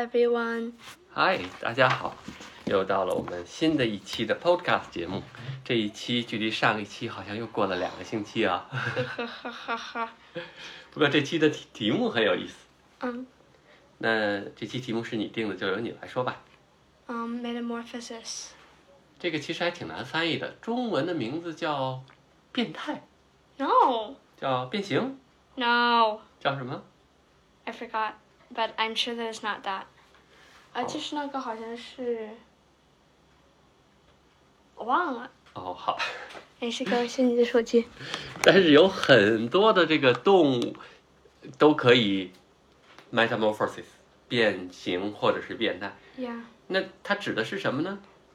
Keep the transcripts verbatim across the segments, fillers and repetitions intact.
everyone. Hi， 大家好，又到了我们新的一期的 Podcast 节目。这一期距离上一期好像又过了两个星期啊。不过这期的题题目很有意思。 嗯。 那这期题目是你定的，就由你来说吧。 Um, metamorphosis. 这个其实还挺难翻译的，中文的名字叫变态。 No. 叫变形。 No. 叫什么 I forgot, but I'm sure that it's not that. 啊，就是那个好像是，我忘了。 哦，好。 没事，给我是你的手机。 但是有很多的这个动物都可以 metamorphosis 变形或者是变态。 Yeah. 那它指的是什么呢？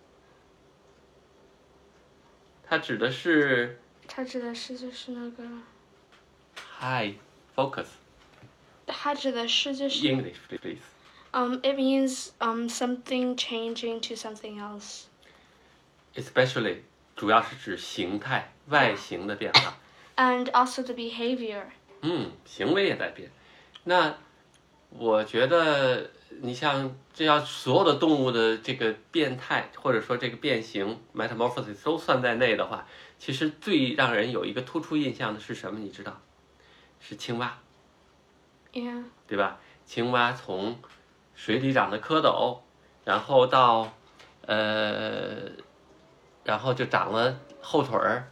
它指的是。 它指的是就是那个。 Hi, focus. 它指的是就是。 English, please. Um, it means um something changing to something else. Especially, 主要是指形态、外形的变化。 And also the behavior. 嗯，行为也在变。那我觉得，你像这要所有的动物的这个变态，或者说这个变形 metamorphosis 都算在内的话，其实最让人有一个突出印象的是什么？你知道？是青蛙。 Yeah. 对吧？青蛙从水里长的蝌蚪，然后到呃，然后就长了后腿儿，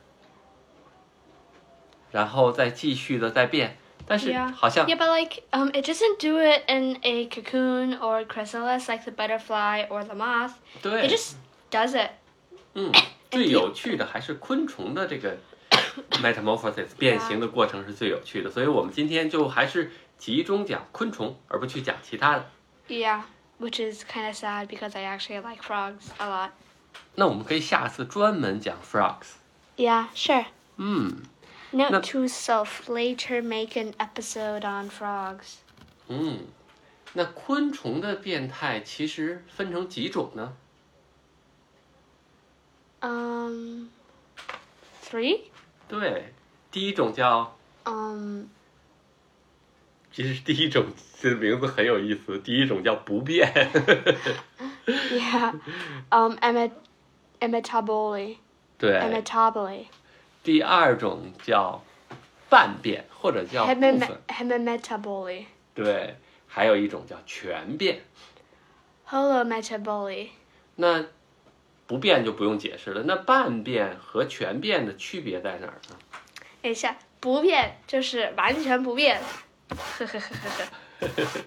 然后再继续的再变，但是好像 yeah, yeah, but like um, it doesn't do it in a cocoon or a chrysalis like the butterfly or the moth. 对 It just does it. 嗯，最有趣的还是昆虫的这个 metamorphosis 变形的过程是最有趣的，所以我们今天就还是集中讲昆虫，而不去讲其他的。 Yeah, which is kind of sad because I actually like frogs a lot. 那我们可以下次专门讲 frogs。 Yeah, sure. 嗯。 Note to self: later make an episode on frogs. 嗯，那昆虫的变态其实分成几种呢？ Um, three. 对，第一种叫 Um. 其实第一种这名字很有意思，第一种叫不变。 Yeah. Um. Emet Emetabole. 对。 Emetabole. 第二种叫半变或者叫部分。 Hemimetabole. 对，还有一种叫全变。 Holometabole. 那不变就不用解释了，那半变和全变的区别在哪儿呢？ 等一下，不变就是完全不变。呵呵呵呵呵。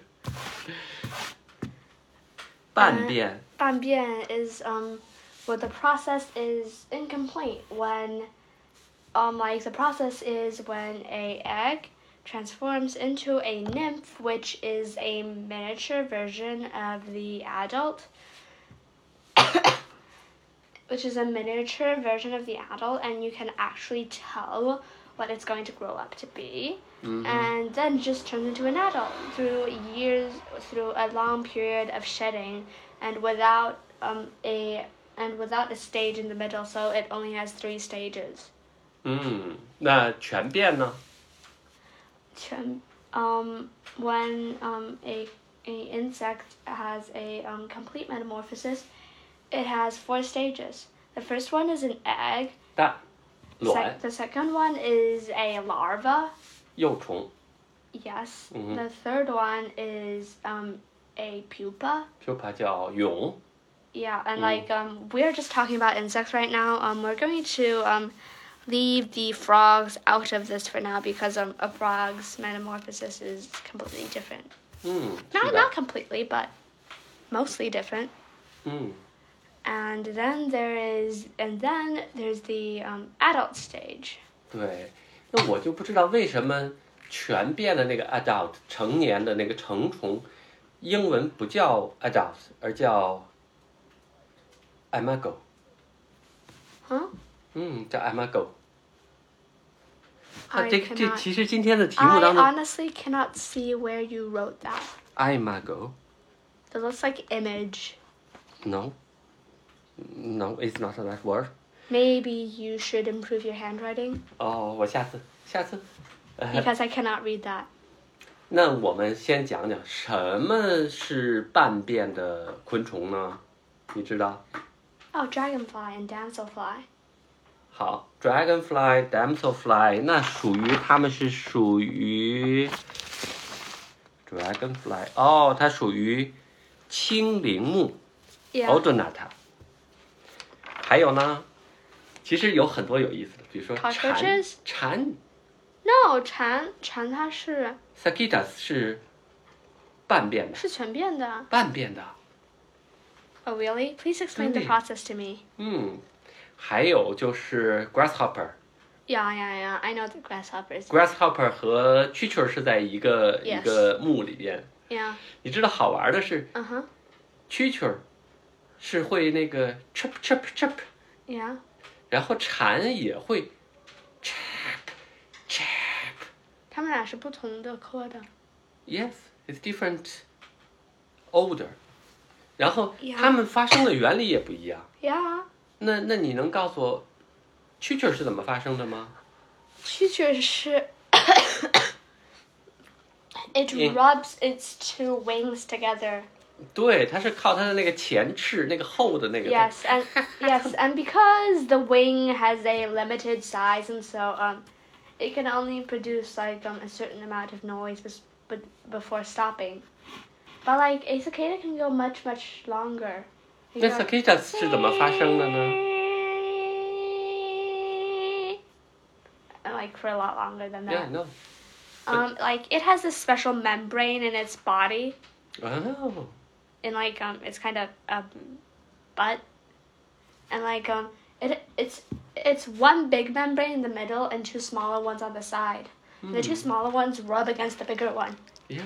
半变。 Uh, 半变 is um, well, the process is incomplete when, um, like the process is when a egg transforms into a nymph, which is a miniature version of the adult. Which is a miniature version of the adult, and you can actually tell what it's going to grow up to be. Mm-hmm. And then just turns into an adult through years, through a long period of shedding, and without um a and without a stage in the middle, so it only has three stages. 嗯，那全变呢？ 全 um when um a a insect has a um complete metamorphosis, it has four stages. The first one is an egg. 蛋，卵。 The second one is a larva. 幼虫。 Yes. Mm-hmm. The third one is um a pupa. Pupa 叫蛹。 Yeah, and mm. like um we're just talking about insects right now. Um, we're going to um leave the frogs out of this for now because um a frog's metamorphosis is completely different. 嗯。 Not not completely, but mostly different. 嗯。 And then there is, and then there's the um, adult stage. 对，那我就不知道为什么全变的那个 adult 成年的那个成虫，英文不叫 adult， 而叫 imago。 Huh？ 嗯，叫 imago。啊， I 这 cannot, 这其实今天的题目当中 I honestly cannot see where you wrote that. imago。 It looks like image. No. No, it's not that word. Maybe you should improve your handwriting. 哦，我下次下次。 Because I cannot read that. 那我们先讲讲什么是半变的昆虫呢？你知道？ Oh, dragonfly and damselfly. 好 ，dragonfly、damselfly， 那属于它们是属于 dragonfly， 哦，它属于青鳞目 Yeah. Odonata。还有呢，其实有很多有意思的，比如说蝉 Cockroaches？ 蝉 No, 蝉蝉它是 ，Sagittarius 是半变的， 是全变的。 半变的。 Oh, really? Please explain the 对 process to me. 嗯，还有就是 grasshopper。 Yeah, yeah, yeah. I know the grasshoppers. grasshopper 和蛐蛐儿是在一个 Yes. 一个目里边。 Yeah. 你知道好玩的是， Uh-huh. 蛐蛐儿是会那个 chirp chirp chirp， Yeah. 然后蝉也会 chirp chirp。 它们俩是不同的科的。 Yes, it's different order。 然后 Yeah. 它们发声的原理也不一样。 Yeah. 那那你能告诉我，蛐蛐儿是怎么发声的吗？ 蛐蛐是 It Yeah. rubs its two wings together. 对，它是靠它的那个前翅，那个厚的那个。 Yes, and yes, and because the wing has a limited size, and so um, it can only produce like um a certain amount of noise, bes- but before stopping. But like a cicada can go much much longer. It 那 can go- cicadas 是怎么发声的呢？ And like for a lot longer than that. Yeah, no. Um, like it has this special membrane in its body, 哦， in like um its kind of um butt, and like um it it's it's one big membrane in the middle and two smaller ones on the side. The two smaller ones rub against the bigger one. Yeah,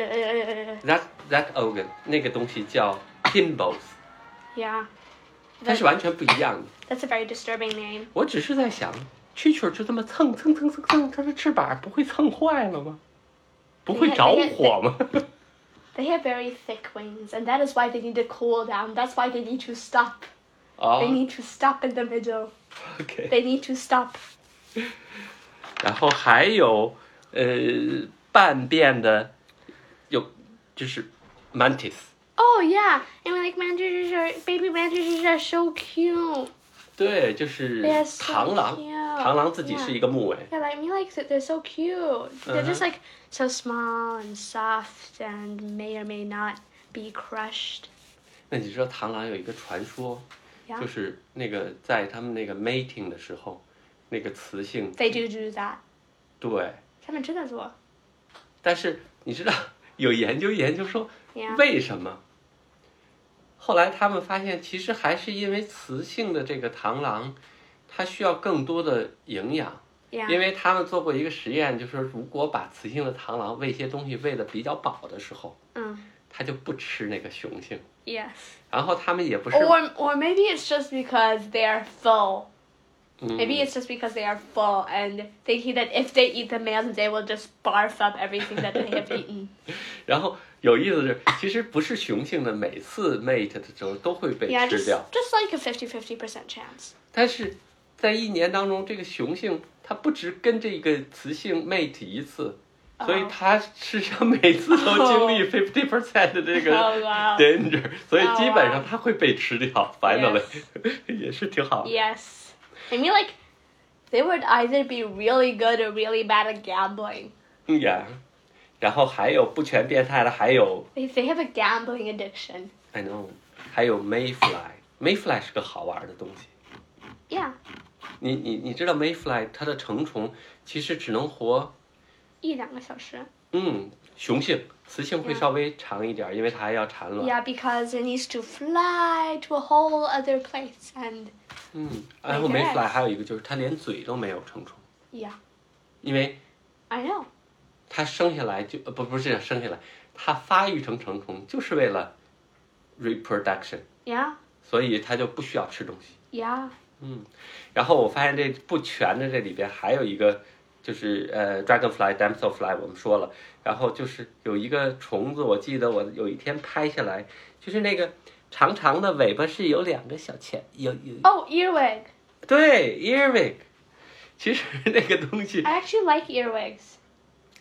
Uh, that that organ 那个东西叫 gimbals， yeah, 它是完全不一样的。 that's a very disturbing name. 我只是在想，蛐蛐儿就这么蹭蹭蹭蹭蹭，它的翅膀不会蹭坏了吗？不会着火吗？ They have very thick wings, and that is why they need to cool down. That's why they need to stop. 哦 They need to stop in the middle. ，OK。 They need to stop. 然后还有呃半变的，有就是 mantis。 Oh yeah, and like mantises are baby mantises are so cute. 对，就是 They are so 螳螂， cute. 螳螂自己是一个木尾。 Yeah, like me likes it. They're so cute. They're just Uh-huh. like so small and soft and may or may not be crushed. 那你知道螳螂有一个传说， Yeah. 就是那个在他们那个 mating 的时候，那个雌性 They do do that. 对， 他们真的做。 但是你知道有研究研究说 Yeah. 为什么？后来他们发现，其实还是因为雌性的这个螳螂，它需要更多的营养。 Yeah. 因为他们做过一个实验，就是说如果把雌性的螳螂喂一些东西喂得比较饱的时候， 嗯它就不吃那个雄性。 Yes. 然后他们也不是， Or or maybe it's just because they are full. 嗯 Maybe it's just because they are full and thinking that if they eat the males, they will just barf up everything that they have eaten. 然后有意思的是，其实不是雄性的每次 mate 的时候都会被 Yeah, 吃 just 掉， just like a fifty-fifty percent chance. 但是在一年当中，这个雄性它不只跟这个雌性 mate 一次，所以它实际上每次都经历 fifty percent 的这个 Oh, wow. danger，所以 Oh, 基本上它会被吃掉。finally 也是挺好的。 Yes. I mean, like, they would either be really good or really bad at gambling. 嗯呀，然后还有不全变态的，还有 They, they have a gambling addiction. I know，还有 mayfly，mayfly 是个好玩的东西。 Yeah. 你你你知道 mayfly 它的成虫其实只能活， 一两个小时。 嗯，雄性，雌性会 Yeah. 稍微长一点，因为它还要产卵。 Yeah, because it needs to fly to a whole other place and 嗯，然后 Make mayfly eggs. 还有一个就是它连嘴都没有成虫， yeah, 因为 I know. 它生下来就呃不不是生下来，它发育成成虫就是为了 reproduction， Yeah, 所以它就不需要吃东西。 yeah. 嗯，然后我发现这不全的这里边还有一个，就是呃 dragonfly、damselfly 我们说了，然后就是有一个虫子，我记得我有一天拍下来，就是那个长长的尾巴是有两个小钳，有有 Oh, earwig. 对 earwig，其实那个东西 I actually like earwigs.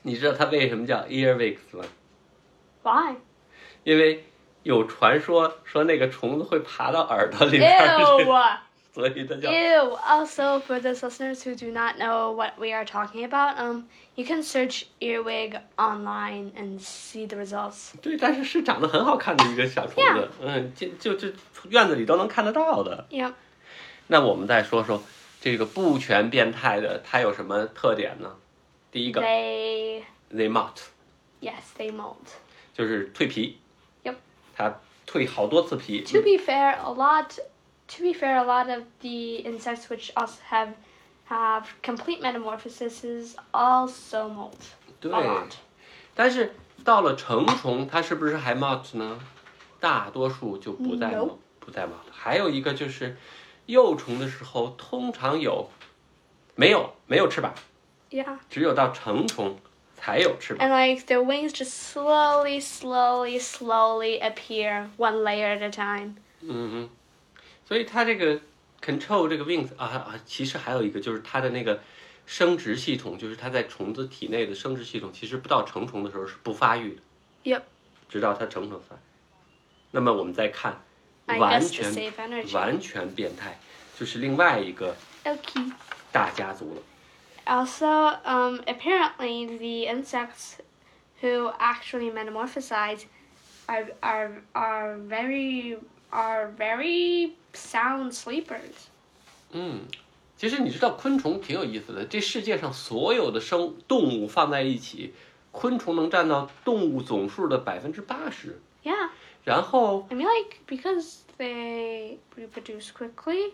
你知道它为什么叫 earwigs 吗？ Why? 因为有传说说那个虫子会爬到耳朵里面去， Ew! 所以它叫 Ew! Also, for those listeners who do not know what we are talking about, um, you can search earwig online and see the results. 对，但是是长得很好看的一个小虫子 Yeah. 嗯，就就就院子里都能看得到的。 Yep. 那我们再说说这个不全变态的，它有什么特点呢？第一个 They, they molt， yes, they molt. 就是蜕皮。 Yep. 它蜕好多次皮。 To be fair, a lot. To be fair, a lot of the insects which also have have complete metamorphoses also molt. 对 A lot. 但是到了成虫，它是不是还 molt 呢？大多数就不再 No. molt，不再 molt。还有一个就是幼虫的时候，通常有没有没有翅膀， Yeah. 只有到成虫才有翅膀。 And like their wings just slowly, slowly, slowly appear one layer at a time. 嗯哼，所以它这个 control 这个 wings 啊啊，其实还有一个就是它的那个生殖系统，就是它在虫子体内的生殖系统，其实不到成虫的时候是不发育的。 Yep. 直到它成成发。那么我们再看 I 完 guess to 全 save energy. 完全变态，就是另外一个 Okay. 大家族了。 Also, um, apparently the insects who actually metamorphosize are are are very are very sound sleepers. 嗯，其实你知道昆虫挺有意思的，这世界上所有的生动物放在一起，昆虫能占到动物总数的百分之八十。 Yeah. 然后 I mean, like, because they reproduce quickly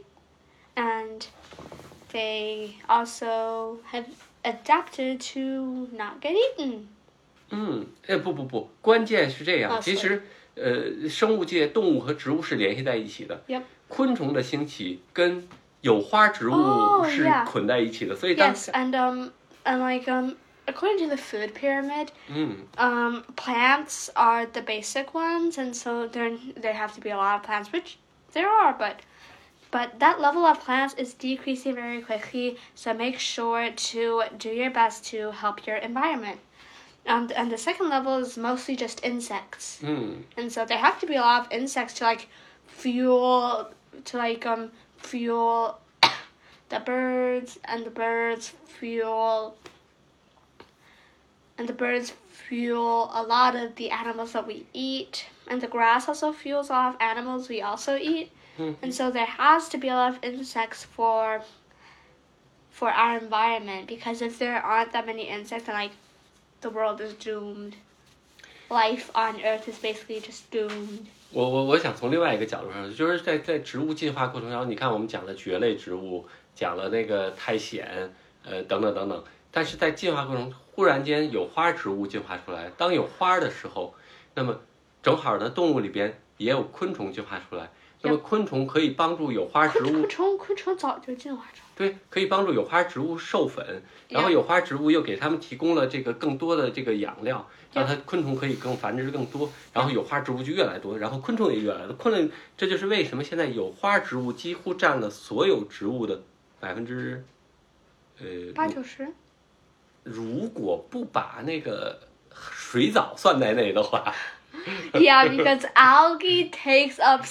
and they also have adapted to not get eaten. 嗯，哎，不不不，关键是这样， 啊其实呃，生物界动物和植物是联系在一起的。 Yep. 昆虫的兴起跟有花植物 Oh, 是 yeah. 捆在一起的，所以当 Yes, and um, and like um, according to the food pyramid, 嗯 um, plants are the basic ones, and so there there have to be a lot of plants, which there are, but but that level of plants is decreasing very quickly. So make sure to do your best to help your environment. And and the second level is mostly just insects, 嗯 and so there have to be a lot of insects to like fuel to like um fuel the birds, and the birds fuel and the birds fuel a lot of the animals that we eat, and the grass also fuels a lot of animals we also eat. 嗯 And so there has to be a lot of insects for for our environment, because if there aren't that many insects, then like the world is doomed. Life on Earth is basically just doomed. 我我我想从另外一个角度上，就是在在植物进化过程中，你看我们讲了蕨类植物，讲了那个苔藓，呃等等等等，但是在进化过程中，忽然间有花植物进化出来，当有花的时候，那么正好呢，动物里边也有昆虫进化出来，那么昆虫可以帮助有花植物， 昆虫昆虫早就进化成。 对，可以帮助有花植物授粉，然后有花植物又给它们提供了这个更多的这个养料，让它昆虫可以更繁殖更多，然后有花植物就越来越多，然后昆虫也越来越多。昆虫，这就是为什么现在有花植物几乎占了所有植物的百分之，呃， 八九十。 如果不把那个水藻算在内的话。 Yeah, because algae takes up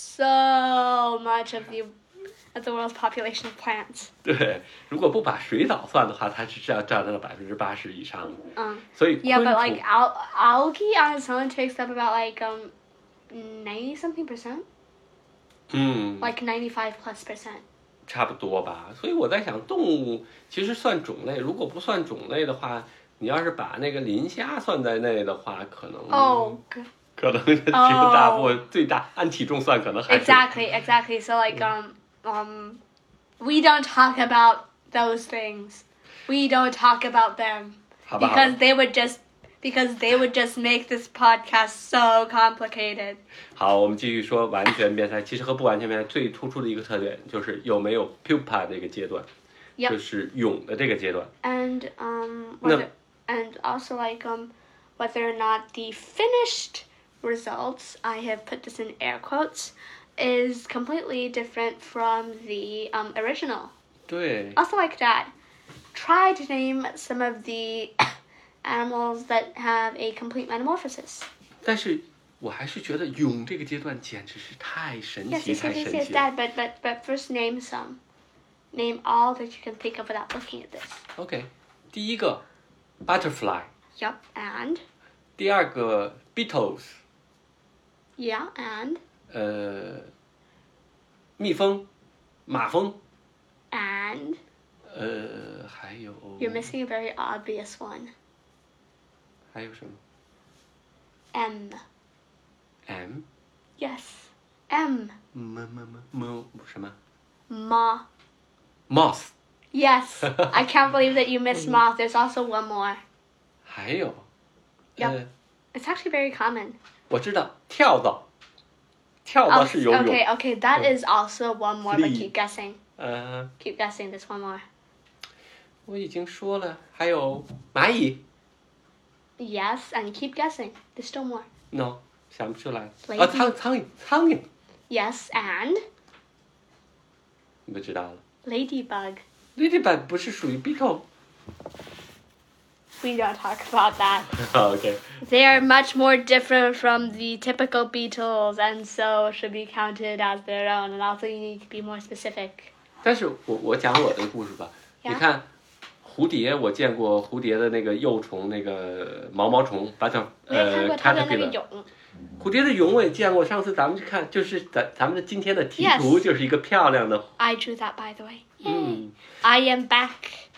so much of the of the world's population of plants. 对，如果不把水藻算的话，它是占占到了百分之八十以上的。 嗯， 所以 Yeah, 昆 but 虫 like al- algae on its own takes up about like um ninety something percent, 嗯， like ninety five plus percent. 差不多吧。所以我在想，动物其实算种类，如果不算种类的话，你要是把那个磷虾算在内的话，可能 Oh, g- 可能是绝大部分最大按体重算，可能还是 exactly, exactly. So like um um, we don't talk about those things. We don't talk about them 好吧？好吧 because they would just because they would just make this podcast so complicated. 好，我们继续说完全变态。其实和不完全变态最突出的一个特点就是有没有 pupa 这个阶段 Yep. 就是蛹的这个阶段。 And um, No. whether, and also like um, whether or not the finished results, I have put this in air quotes, is completely different from the um, original. 对， Also like that, try to name some of the animals that have a complete metamorphosis. 但是我还是觉得蛹这个阶段简直是太神 Yes, 奇， yes, 太 yes, 神 yes, 奇了。 Dad. But but but first, name some. Name all that you can think of without looking at this. OK， 第一个 butterfly， Yup, and 第二个 beetles， yeah, and 呃，蜜蜂，马蜂， and 呃，还有 you're missing a very obvious one. 还有什么 M. M Yes, M. 么么么么什么 Ma. moth， Yes, I can't believe that you missed moth. There's also one more. 还有 Yep. 呃， It's actually very common. 我知道跳蚤，跳 Oh, 蚤是游泳。 okay, okay, that is also one more, but Flea. keep guessing. 呃， Keep guessing. There's one more. 我已经说了，还有蚂蚁 Yes, and keep guessing. There's still more. ，no， 想不出来。 Lady. 啊，苍苍蝇，苍蝇， Yes, and 你不知道了。 ladybug. Ladybug 不是属于 beetle。 We don't talk about that. OK， They are much more different from the typical beetles, and so should be counted as their own. And also, you need to be more specific. 但是我我讲我的故事吧。 Yeah. 你看，蝴蝶，我见过蝴蝶的那个幼虫，那个毛毛虫 butter 我也看呃过它的那个 caterpillar。 蛹。 蝴蝶的蛹我也见过，上次咱们去看，就是咱咱们的今天的题 Yes. 图就是一个漂亮的， I drew that, by the way. Yay. 嗯， I am back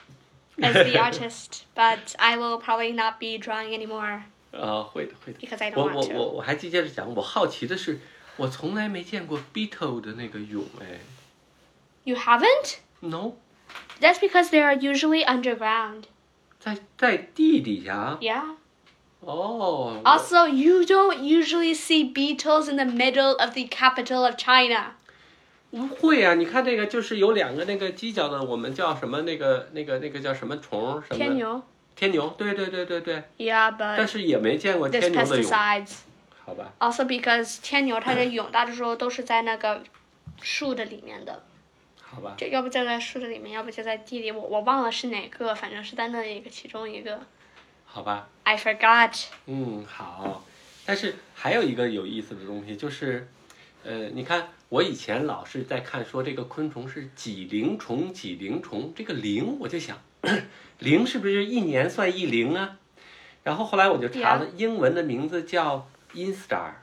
as the artist, but I will probably not be drawing anymore 呃，会的会的。 because I 我 don't 我 want 我 to. 我还接着讲，我好奇的是，我从来没见过 beetle 的那个蛹，哎 You haven't? ，no， That's because they are usually underground. 在在地底下。 Yeah. 哦。 Also, you don't usually see beetles in the middle of the capital of China. 不会啊，你看这个就是有两个那个犄角的，我们叫什么那个那个那个叫什么虫？什么？ 天牛。 天牛，对对对对对。 Yeah, 但 but 是也没见过 there's 天牛的蛹， pesticides. 好吧？ Also, because 天牛它的蛹大多数都是在那个树的里面的， 好吧？ 就要不就在树的里面，要不就在地里。我我忘了是哪个，反正是在那一个其中一个。 好吧？ I forgot. 嗯，好。但是还有一个有意思的东西，就是，呃，你看我以前老是在看说这个昆虫是几龄虫，几龄虫，这个龄我就想，龄是不是一年算一龄啊？然后后来我就查了，英文的名字叫 instar。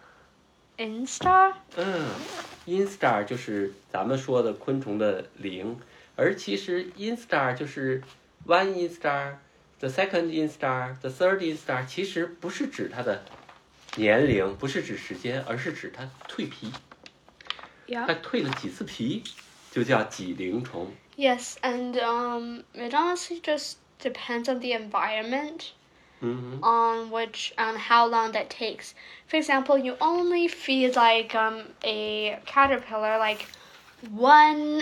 Instar? 嗯 ，instar 就是咱们说的昆虫的龄，而其实 instar 就是 one instar。The second instar, the third instar， 其实不是指它的年龄，不是指时间，而是指它蜕皮。它 Yeah. 蜕了几次皮，就叫几龄虫。 Yes, and um, it honestly just depends on the environment, 嗯哼， on which, on how long that takes. For example, you only feed like um a caterpillar like one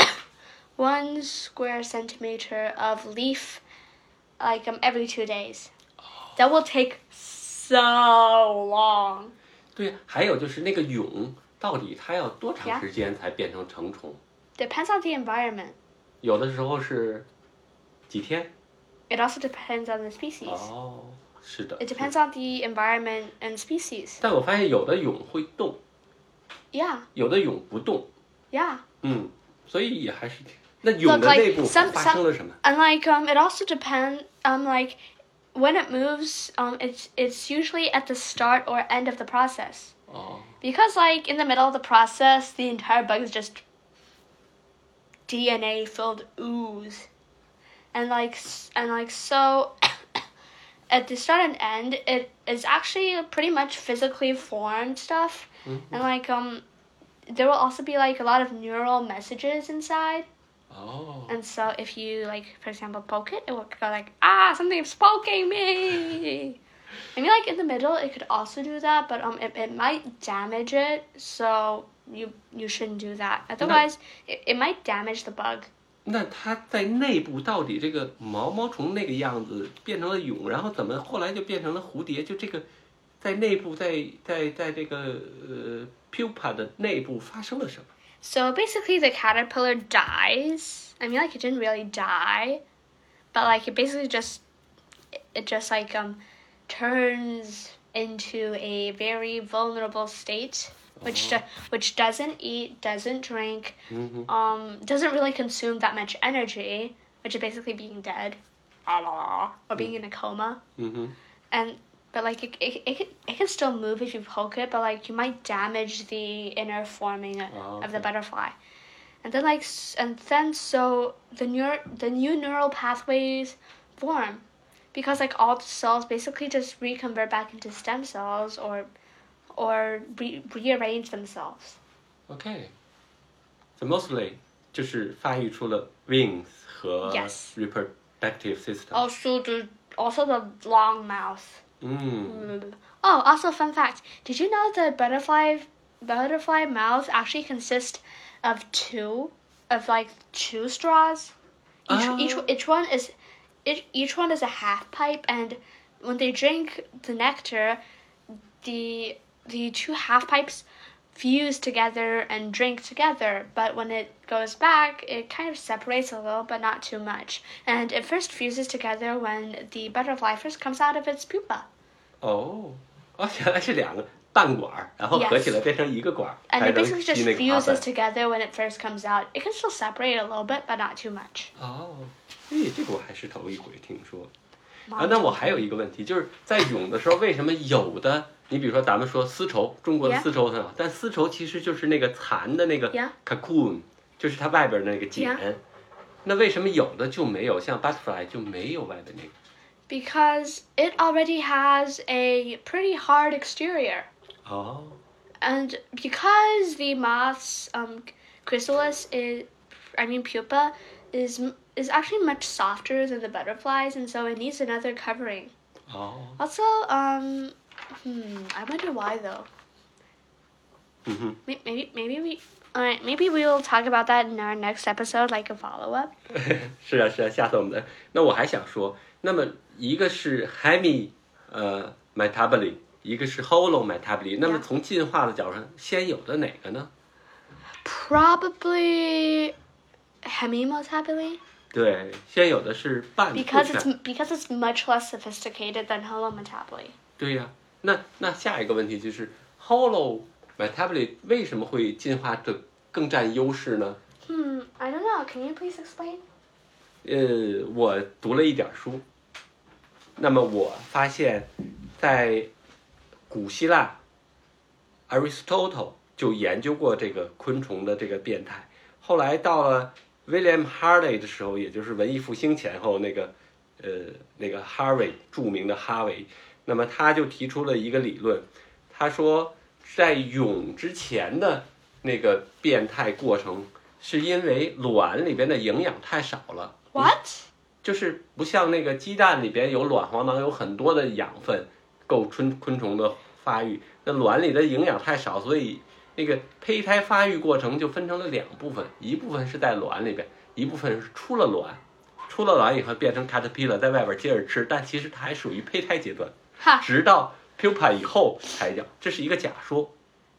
one square centimeter of leaf, like um every two days. That will take so long. 对，还有就是那个蛹到底它要多长时间才变成成虫？ Depends on the environment. 有的时候是几天。 It also depends on the species. 哦，是的。 It depends on the environment and species. 但我发现有的蛹会动， Yeah, 有的蛹不动。 yeah. 嗯，所以也还是挺。那蛹的 Look, 内 like 部 some 发 some 生了什么？ and like um, it also depends um like when it moves um it's it's usually at the start or end of the process 哦， because like in the middle of the process the entire bug is just D N A filled ooze, and like s- and like so at the start and end it is actually pretty much physically formed stuff, 嗯， and like um there will also be like a lot of neural messages inside. 哦， And so if you like, for example, poke it, it will go like, ah, something's poking me. I mean, like in the middle, it could also do that, but um, it, it might damage it. So you you shouldn't do that. Otherwise, it, it might damage the bug. 那它在内部到底这个毛毛虫那个样子变成了蛹，然后怎么后来就变成了蝴蝶？就这个在内部，在在在这个呃 pupa 的内部发生了什么？ So basically, the caterpillar dies. I mean, like it didn't really die, but like it basically just it just like um turns into a very vulnerable state, which Oh. which doesn't eat, doesn't drink, Mm-hmm. um, doesn't really consume that much energy, which is basically being dead, or being in a coma. Mm-hmm. And but like it, it, it, can, it can still move if you poke it, but like you might damage the inner forming Oh, of the okay. butterfly. And then like and then so the neur- the new neural pathways form, because like all the cells basically just reconvert back into stem cells or or re- rearrange themselves. Okay. So mostly 就是发育出了 wings 和 Yes. reproductive system. Also the also the long mouth. 嗯 Oh, also fun fact. Did you know the butterfly butterfly mouth actually consists of two of like two straws? Each Oh. each each one is each, each one is a half pipe, and when they drink the nectar, the the two half pipes fuse together and drink together, but when it goes back, it kind of separates a little, but not too much. And it first fuses together when the butterfly first comes out of its pupa. 哦，哦，原来是两个半管儿，然后合起来变成一个管儿， And 才 it 能 basically just 吸那个花粉 fuses。together when it first comes out. It can still separate a little bit, but not too much. 哦，哎，这个我还是头一回听说。啊，那我还有一个问题，就是在蛹的时候，为什么有的，你比如说咱们说丝绸，中国的 Yeah. 丝绸很好，但丝绸其实就是那个蚕的那个 Yeah. cocoon，就是它外边的那个茧。 Yeah. 那为什么有的就没有，像 butterfly 就没有外边那个？ Because it already has a pretty hard exterior. 哦， And because the moth's um, chrysalis is, I mean pupa, is is actually much softer than the butterflies, and so it needs another covering. 哦， Also, um, hmm, I wonder why though. 嗯哼。 May- Maybe maybe we, alright, maybe we'll talk about that in our next episode, like a follow up. 是啊是啊，下次我们再。那我还想说，那么一个是 hemi 呃 metabolic， 一个是 holo metabolic， 那么 Yeah. 从进化的角度上，先有的哪个呢？ Probably hemimotabily, 对，先有的是半 because 部 it's 分。 because it's much less sophisticated than holometably. 对呀、那那下一个问题就是 holo metabolic 为什么会进化的更占优势呢？ Hmm, I don't know. Can you please explain? 呃，我读了一点书，那么我发现，在古希腊 ，Aristotle 就研究过这个昆虫的这个变态。后来到了 William Harvey 的时候，也就是文艺复兴前后那个，呃，那个 Harvey 著名的哈维，那么他就提出了一个理论，他说在蛹之前的那个变态过程，是因为卵里边的营养太少了。 What? 就是不像那个鸡蛋里边有卵黄囊，有很多的养分够昆昆虫的发育。那卵里的营养太少，所以那个胚胎发育过程就分成了两部分，一部分是在卵里边，一部分是出了卵，出了卵以后变成 caterpillar 在外边接着吃，但其实它还属于胚胎阶段， Ha. 直到 pupa 以后才叫，这是一个假说。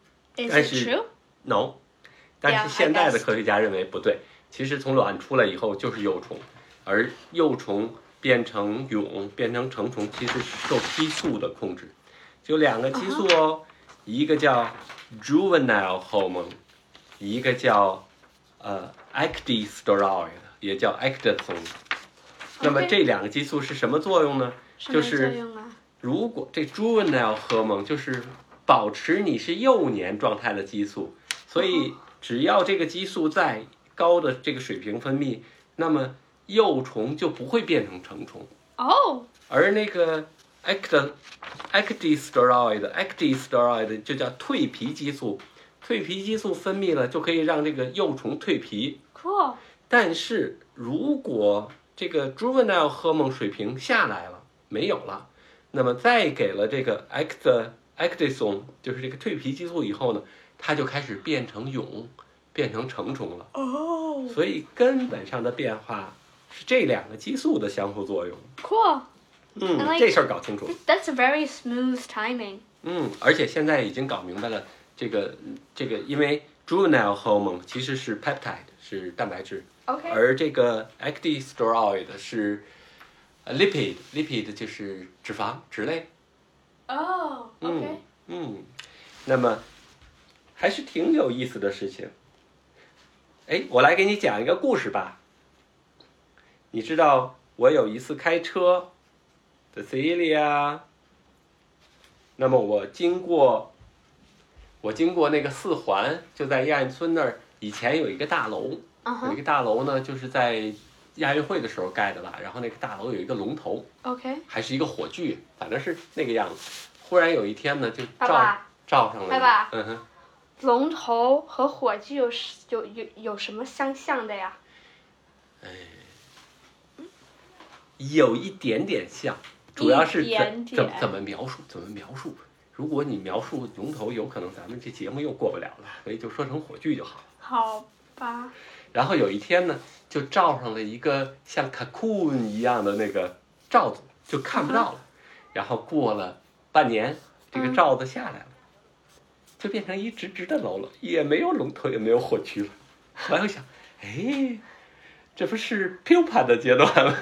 Is I it see. true? No， 但 Yeah, 是现在的 I guess. 科学家认为不对，其实从卵出来以后就是幼虫，而幼虫变成蛹变成成虫，其实是受激素的控制，就两个激素哦，一个叫 juvenile hormone， 一个叫呃 ecdysteroid， 也叫 ecdysone。那么 Okay. 这两个激素是什么作用呢？就是如果这 juvenile hormone 就是保持你是幼年状态的激素，所以只要这个激素在高的这个水平分泌，那么幼虫就不会变成成虫。 Oh. 而那个 ecd ecdysteroid ecdysteroid 就叫蜕皮激素，蜕皮激素分泌了就可以让这个幼虫蜕皮。 Cool. 但是如果这个 juvenile hormone 水平下来了，没有了，那么再给了这个 ect ecdysone 就是这个蜕皮激素以后呢，它就开始变成蛹，变成成虫了。 Oh. 所以根本上的变化是这两个激素的相互作用。 Cool. 嗯， I like- 这事儿搞清楚。 That's a very smooth timing. 嗯，而且现在已经搞明白了，这个这个，因为 juvenile hormone 其实是 peptide 是蛋白质， Okay. 而这个 ecdysteroid 是呃 lipid lipid 就是脂肪脂类。 哦、oh,，OK。 嗯，嗯，那么还是挺有意思的事情。哎，我来给你讲一个故事吧。你知道我有一次开车 ，Cecilia， 那么我经过，我经过那个四环，就在亚运村那儿，以前有一个大楼， uh-huh. 有一个大楼呢，就是在亚运会的时候盖的吧。然后那个大楼有一个龙头 ，OK，还是一个火炬，反正是那个样子。忽然有一天呢，就照爸爸照上了。 爸爸， 嗯哼， 龙头和火炬有有有有什么相像的呀？ 哎，有一点点像，主要是怎怎怎么描述？怎么描述？如果你描述龙头，有可能咱们这节目又过不了了，所以就说成火炬就好了。 好吧。 然后有一天呢，就罩上了一个像 cocoon 一样的那个罩子，就看不到了。Uh-huh. 然后过了半年，这个罩子下来了，嗯、就变成一直直的楼了，也没有龙头，也没有火炬了。后来我想，哎，这不是 pupa 的阶段吗？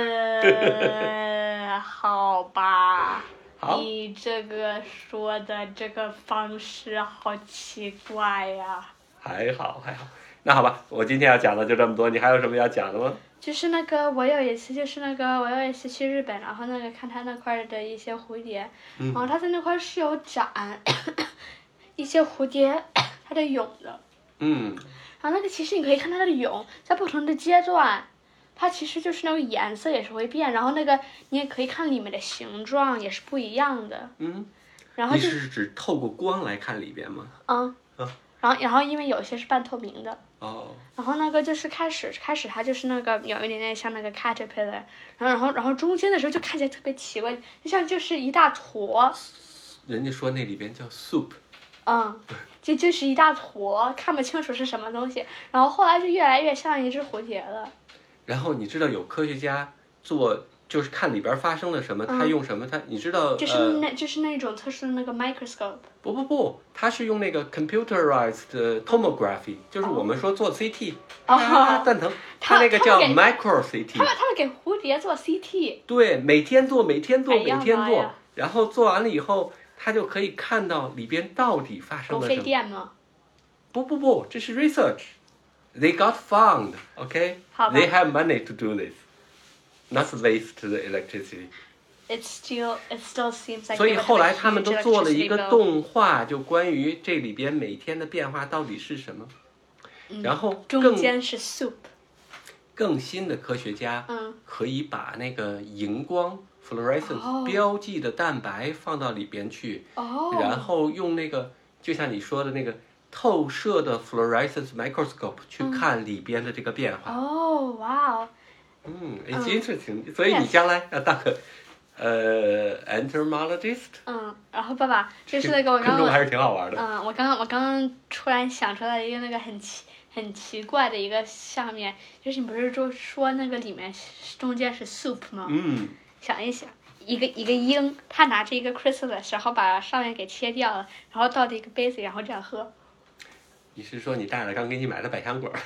呃，好吧。 好， 你这个说的这个方式好奇怪呀。 还好还好，那好吧，我今天要讲的就这么多，你还有什么要讲的吗？ 就是那个，我有一次就是那个，我有一次去日本，然后那个看他那块的一些蝴蝶， 嗯、 然后他在那块是有展一些蝴蝶它的蛹的。 嗯。 然后那个其实你可以看它的蛹在不同的阶段。它其实就是那个颜色也是会变，然后那个你也可以看里面的形状也是不一样的。 嗯， 然后你是指透过光来看里边吗？ 嗯。 啊。 然后然后因为有些是半透明的。 哦。 然后那个就是开始开始它就是那个有一点点像那个 caterpillar， 然后然后然后中间的时候就看起来特别奇怪，就像就是一大坨。 人家说那里边叫 soup。 嗯，就就是一大坨，看不清楚是什么东西，然后后来就越来越像一只蝴蝶了。 然后你知道有科学家做，就是看里边发生了什么，嗯、他用什么？他你知道？ 就是那、呃、就是那种特殊的那个 microscope。 不不不，他是用那个 computerized tomography，、嗯、就是我们说做 C T。哦。啊，蛋疼。他那个叫 micro C T。 他们他们给蝴蝶做 C T。 对，每天做，每天做，每天做，哎、然后做完了以后，他就可以看到里边到底发生了什么。 够费电吗？ 不不不，这是 research。They got found, okay? They have money to do this, not waste the electricity. It still, it still seems like. 所以后来他们都做了一个动画，就关于这里边每天的变化到底是什么。 嗯、 然后中间是 soup。 更新的科学家可以把那个荧光 fluorescence 标记的蛋白放到里边去， 哦、 然后用那个就像你说的那个。透射的 fluorescence microscope 去看里边的这个变化。 哦，哇哦。 嗯 ，it's interesting。所以你将来要当个呃 entomologist。 嗯，然后爸爸就是那个我刚刚还是挺好玩的。 嗯，我刚刚我刚刚突然想出来一个那个很奇很奇怪的一个下面，就是你不是就说那个里面中间是 soup 吗？ 嗯。 想一想，一个一个鹰，他拿着一个 chrysalis， 然后把上面给切掉了，然后倒进一个杯子，然后这样喝。 你是说你带了刚给你买的百香果？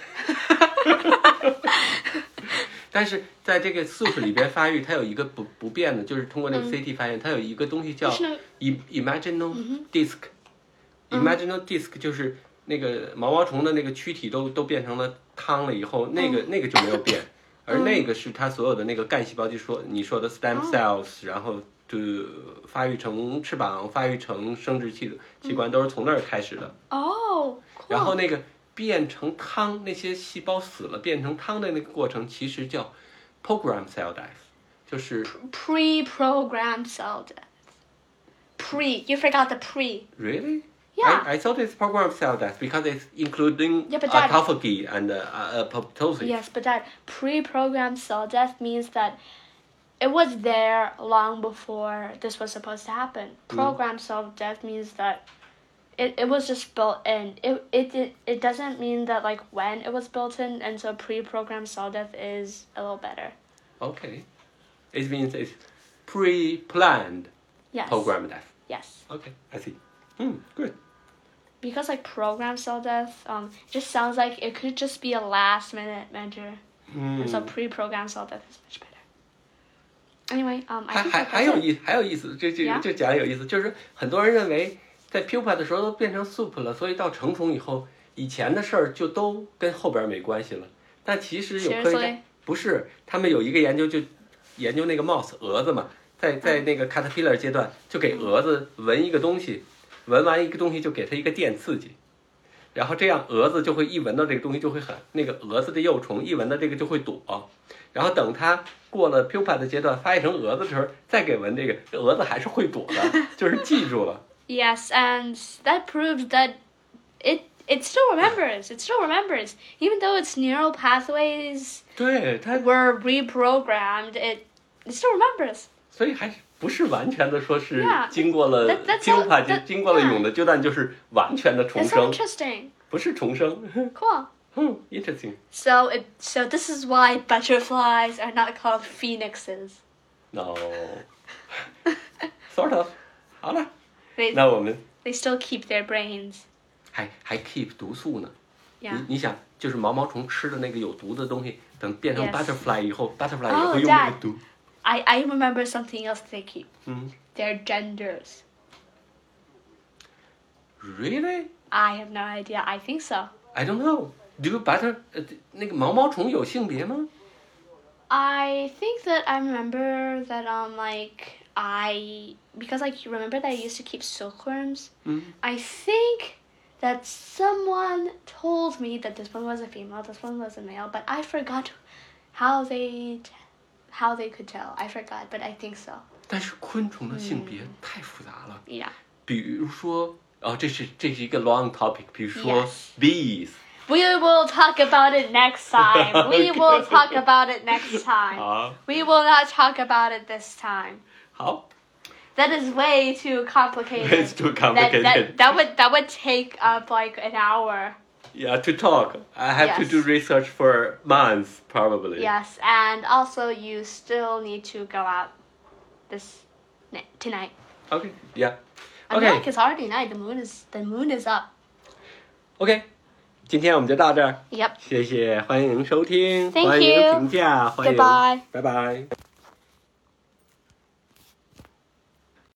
但是在这个 soup 里边发育，它有一个不不变的，就是通过那个 C T 发现，它有一个东西叫 imaginal disc。imaginal disc 就是那个毛毛虫的那个躯体都都变成了汤了以后，那个那个就没有变，而那个是它所有的那个干细胞，就说你说的 stem cells， 然后就发育成翅膀，发育成生殖器器官，都是从那儿开始的。 哦。 然后那个变成汤，那些细胞死了变成汤的那个过程，其实叫 program cell death， 就是 pre-programmed cell death。Pre, you forgot the pre. Really? Yeah. I, I thought it's program cell death because it's including yeah, but that, autophagy and uh, apoptosis. Yes, but that pre-programmed cell death means that it was there long before this was supposed to happen. Programmed mm. cell death means that It it was just built in. It it it it doesn't mean that like when it was built in, and so pre-programmed cell death is a little better. Okay, it means it's pre-planned. Yes. Programmed death. Yes. Okay, I see. Hmm, good. Because like programmed cell death, um, it just sounds like it could just be a last-minute measure. Mm. And so pre-programmed cell death is much better. Anyway, um, I 还 think 还 that 还 that's 有 it. 意还有意思，这这 Yeah? 这讲得有意思，就是很多人认为在 pupa 的时候都变成 soup 了，所以到成虫以后，以前的事儿就都跟后边没关系了。但其实有科学 Seriously? 家不是，他们有一个研究就研究那个 mouse 蛾子嘛，在在那个 caterpillar 阶段就给蛾子闻一个东西，闻完一个东西就给它一个电刺激。然后这样蛾子就会一闻到这个东西就会很那个蛾子的幼虫一闻到这个就会躲，然后等它过了 pupa 的阶段发育成蛾子的时候再给闻这个，这蛾子还是会躲的，就是记住了。 Yes, and that proves that it it still remembers. It still remembers, even though its neural pathways 对它， were reprogrammed. It it still remembers. 所以还是不是完全的说是 Yeah, 经过了 that- that's all- pupa 就 that- 经过了 yeah. 蛹的阶段就是完全的重 It's so 生， interesting. 不是重生。 Cool. 嗯 ，interesting。 So it so this is why butterflies are not called phoenixes. No ，sort of。好了， They 那我们 they still keep their brains. 还还 keep 毒素呢。 Yeah. 你你想，就是毛毛虫吃的那个有毒的东西，等变成 Yes. butterfly 以后 ，butterfly 也 Oh, 会用那 Dad. 个毒。 I I remember something else they keep. 嗯 Their genders. ，Really? I have no idea. I think so. I don't know. Do butter 呃那个毛毛虫有性别吗？ I think that I remember that um like I because like you remember that I used to keep silkworms. 嗯 I think that someone told me that this one was a female, this one was a male, but I forgot how they how they could tell. I forgot, but I think so. 但是昆虫的性别太复杂了。 Yeah. 比如说，哦，这是这是一个 long topic。比如说 Yes. bees。 We will talk about it next time. We will talk about it next time. 好， We will not talk about it this time. 好 That is way too complicated. It's too That, complicated. that, that would that would take up like an hour. Yeah, to talk. I have to Yes. do research for months, probably. Yes, and also you still need to go out this ni- tonight. Okay. Yeah. I mean, Okay. like it's already night. The moon is the moon is up. OK，今天我们就到这儿， Yep. 谢谢，欢迎收听， Thank 欢迎 you. 评价，欢迎， Goodbye. 拜拜。